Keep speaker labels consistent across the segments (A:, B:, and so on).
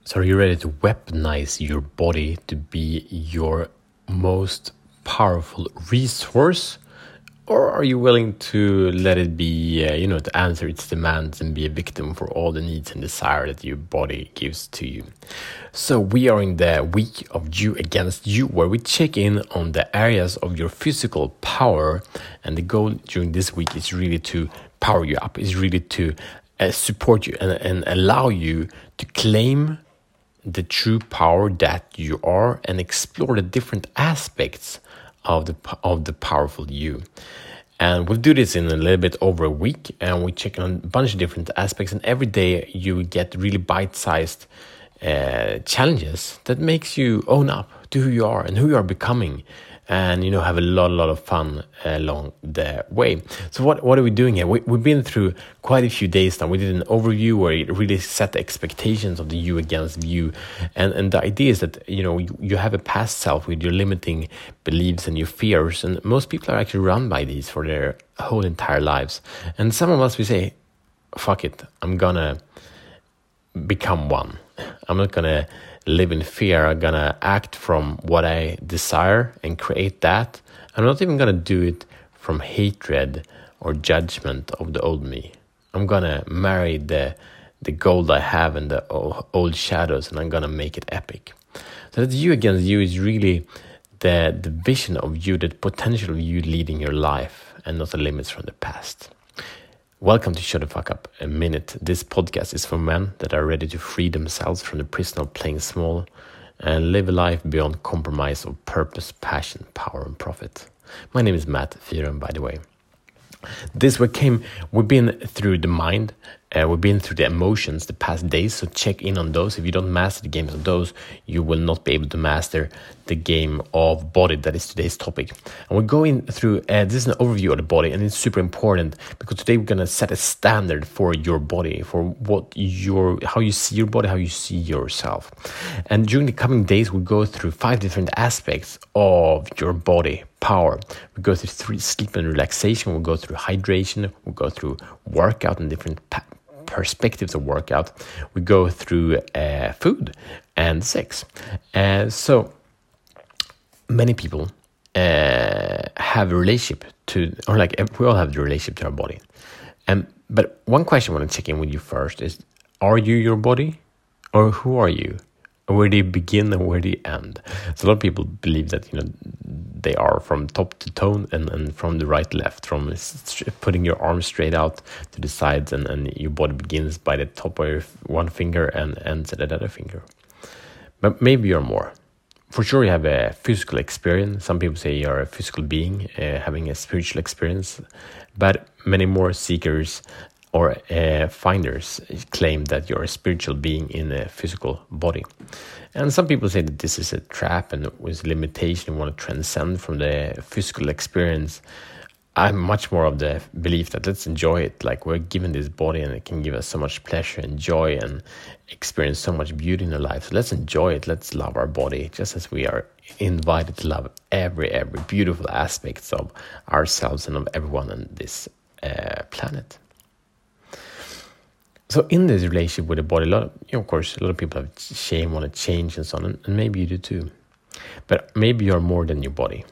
A: So are you ready to weaponize your body to be your most powerful resource? Or are you willing to let it be, to answer its demands and be a victim for all the needs and desire that your body gives to you? So we are in the week of you against you, where we check in on the areas of your physical power. And the goal during this week is really to power you up, is really to support you and allow you to claim the true power that you are and explore the different aspects of the powerful you. And we'll do this in a little bit over a week, and we check on a bunch of different aspects, and every day you get really bite-sized challenges that makes you own up to who you are and who you are becoming, and have a lot of fun along the way. So what are we doing here? We've been through quite a few days now. We did an overview where it really set the expectations of the you against you, and the idea is that you have a past self with your limiting beliefs and your fears, and most people are actually run by these for their whole entire lives. And some of us, we say, fuck it, I'm gonna become one. I'm not gonna live in fear. I'm gonna act from what I desire and create that. I'm not even gonna do it from hatred or judgment of the old me. I'm gonna marry the gold I have and the old shadows, and I'm gonna make it epic. So that you against you is really the vision of you, the potential of you leading your life, and not the limits from the past. Welcome to Shut the Fuck Up a Minute. This podcast is for men that are ready to free themselves from the prison of playing small and live a life beyond compromise of purpose, passion, power, and profit. My name is Matt Fyren, by the way. This week we've been through the mind, we've been through the emotions the past days, so check in on those. If you don't master the games of those, you will not be able to master the game of body, that is today's topic. And we're going through, this is an overview of the body, and it's super important because today we're going to set a standard for your body, for how you see your body, how you see yourself. And during the coming days, we'll go through 5 different aspects of your body power. We go through sleep and relaxation, we'll go through hydration, we'll go through workout and different perspectives of workout. We go through food and sex. So many people have a relationship to, or like we all have the relationship to our body. But one question I want to check in with you first is, are you your body, or who are you? Where do you begin and where do you end? So a lot of people believe that they are from top to toe and from the right to left, from putting your arms straight out to the sides, and your body begins by the top of your one finger and ends at the other finger. But maybe you're more. For sure, you have a physical experience. Some people say you're a physical being having a spiritual experience, but many more seekers or finders claim that you're a spiritual being in a physical body. And some people say that this is a trap and with limitation, you want to transcend from the physical experience. I'm much more of the belief that let's enjoy it. Like, we're given this body and it can give us so much pleasure and joy and experience so much beauty in our life. So let's enjoy it. Let's love our body just as we are invited to love every beautiful aspects of ourselves and of everyone on this planet. So in this relationship with the body, of course, a lot of people have shame, want to change and so on, and maybe you do too. But maybe you're more than your body.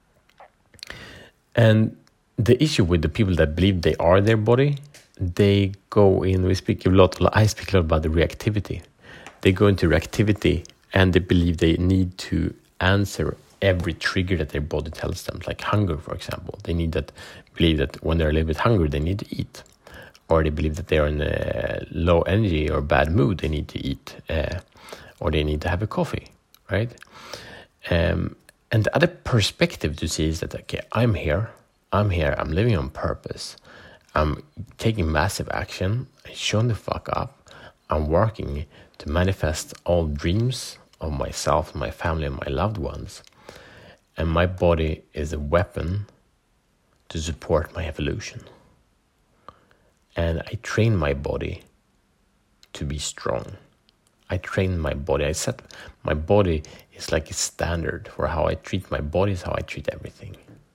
A: And the issue with the people that believe they are their body, they go in, I speak a lot about the reactivity. They go into reactivity and they believe they need to answer every trigger that their body tells them, like hunger, for example. They believe that when they're a little bit hungry, they need to eat. Or they believe that they are in a low energy or bad mood, they need to eat, or they need to have a coffee, right? And the other perspective to see is that, okay, I'm here, I'm living on purpose, I'm taking massive action, I'm showing the fuck up, I'm working to manifest all dreams of myself, my family, and my loved ones. And my body is a weapon to support my evolution. And I train my body to be strong. I train my body. I set my body is like a standard for how I treat my body is how I treat everything.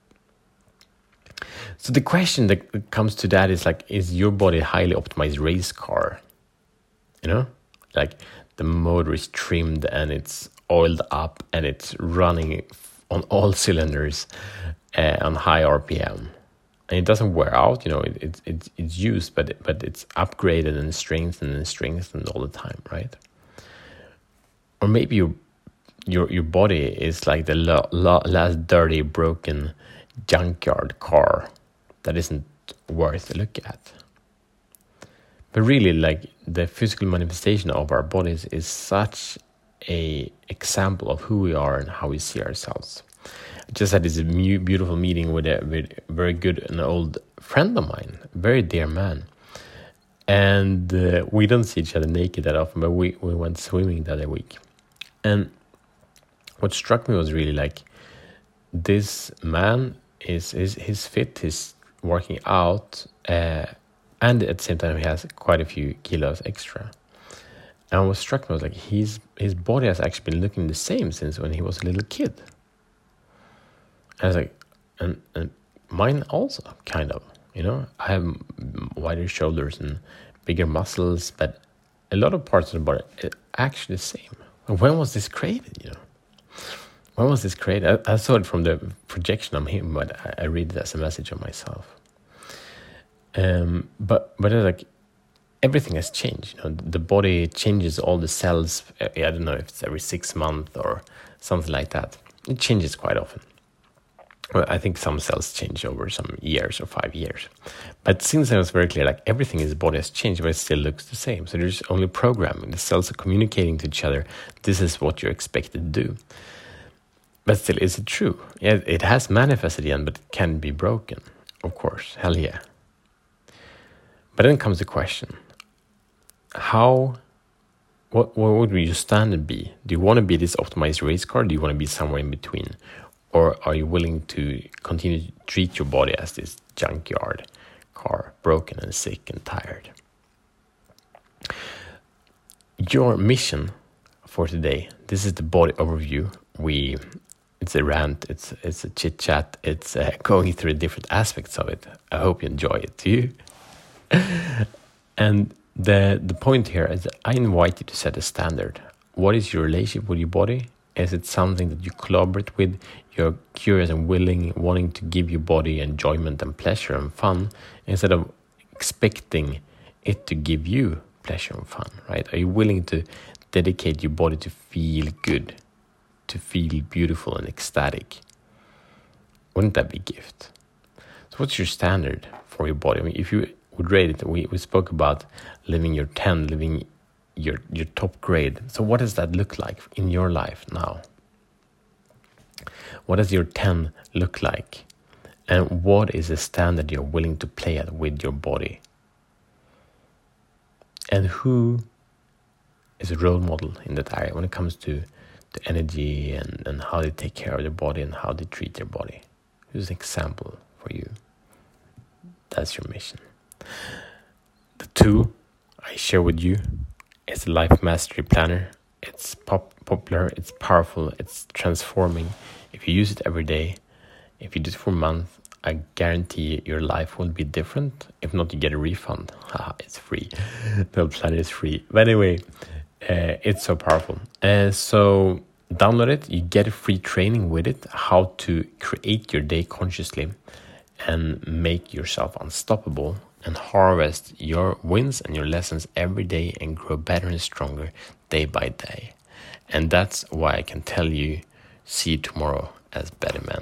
A: So the question that comes to that is like, is your body a highly optimized race car? Like the motor is trimmed and it's oiled up and it's running on all cylinders on high RPM. And it doesn't wear out, it's used, but it's upgraded and strengthened all the time, right? Or maybe your body is like the last dirty, broken junkyard car that isn't worth a look at. But really, like, the physical manifestation of our bodies is such a example of who we are and how we see ourselves. I just had this beautiful meeting with a very good and old friend of mine, a very dear man. And we don't see each other naked that often, but we went swimming the other week. And what struck me was really like, this man is fit, he's working out, and at the same time he has quite a few kilos extra. And what struck me was like, his body has actually been looking the same since when he was a little kid. I was like, and mine also, kind of, I have wider shoulders and bigger muscles, but a lot of parts of the body are actually the same. When was this created, When was this created? I saw it from the projection of him, but I read it as a message of myself. But it's like, everything has changed. The body changes all the cells. I don't know if it's every 6 months or something like that. It changes quite often. Well, I think some cells change over some years or 5 years. But since it was very clear, like, everything in the body has changed, but it still looks the same. So there's only programming. The cells are communicating to each other. This is what you're expected to do. But still, is it true? Yeah, it has manifested again, but it can be broken. Of course, hell yeah. But then comes the question. What would your standard be? Do you want to be this optimized race car? Do you want to be somewhere in between? Or are you willing to continue to treat your body as this junkyard car, broken and sick and tired? Your mission for today, this is the body overview. It's a rant, it's a chit chat, it's going through different aspects of it. I hope you enjoy it too. And the point here is that I invite you to set a standard. What is your relationship with your body? Is it something that you collaborate with? You're curious and wanting to give your body enjoyment and pleasure and fun instead of expecting it to give you pleasure and fun, right? Are you willing to dedicate your body to feel good, to feel beautiful and ecstatic? Wouldn't that be a gift? So what's your standard for your body? I mean, if you would rate it, we spoke about living your 10, living your top grade. So what does that look like in your life now? What does your 10 look like? And what is the standard you're willing to play at with your body? And who is a role model in that area when it comes to the energy and how they take care of their body and how they treat their body? Who's an example for you? That's your mission. The 2 I share with you is a life mastery planner. It's popular, it's powerful, it's transforming. If you use it every day, if you do it for a month, I guarantee your life will be different. If not, you get a refund. It's free. The planner is free. But anyway, it's so powerful. So download it. You get a free training with it, how to create your day consciously and make yourself unstoppable and harvest your wins and your lessons every day and grow better and stronger day by day. And that's why I can tell you, see you tomorrow as better men.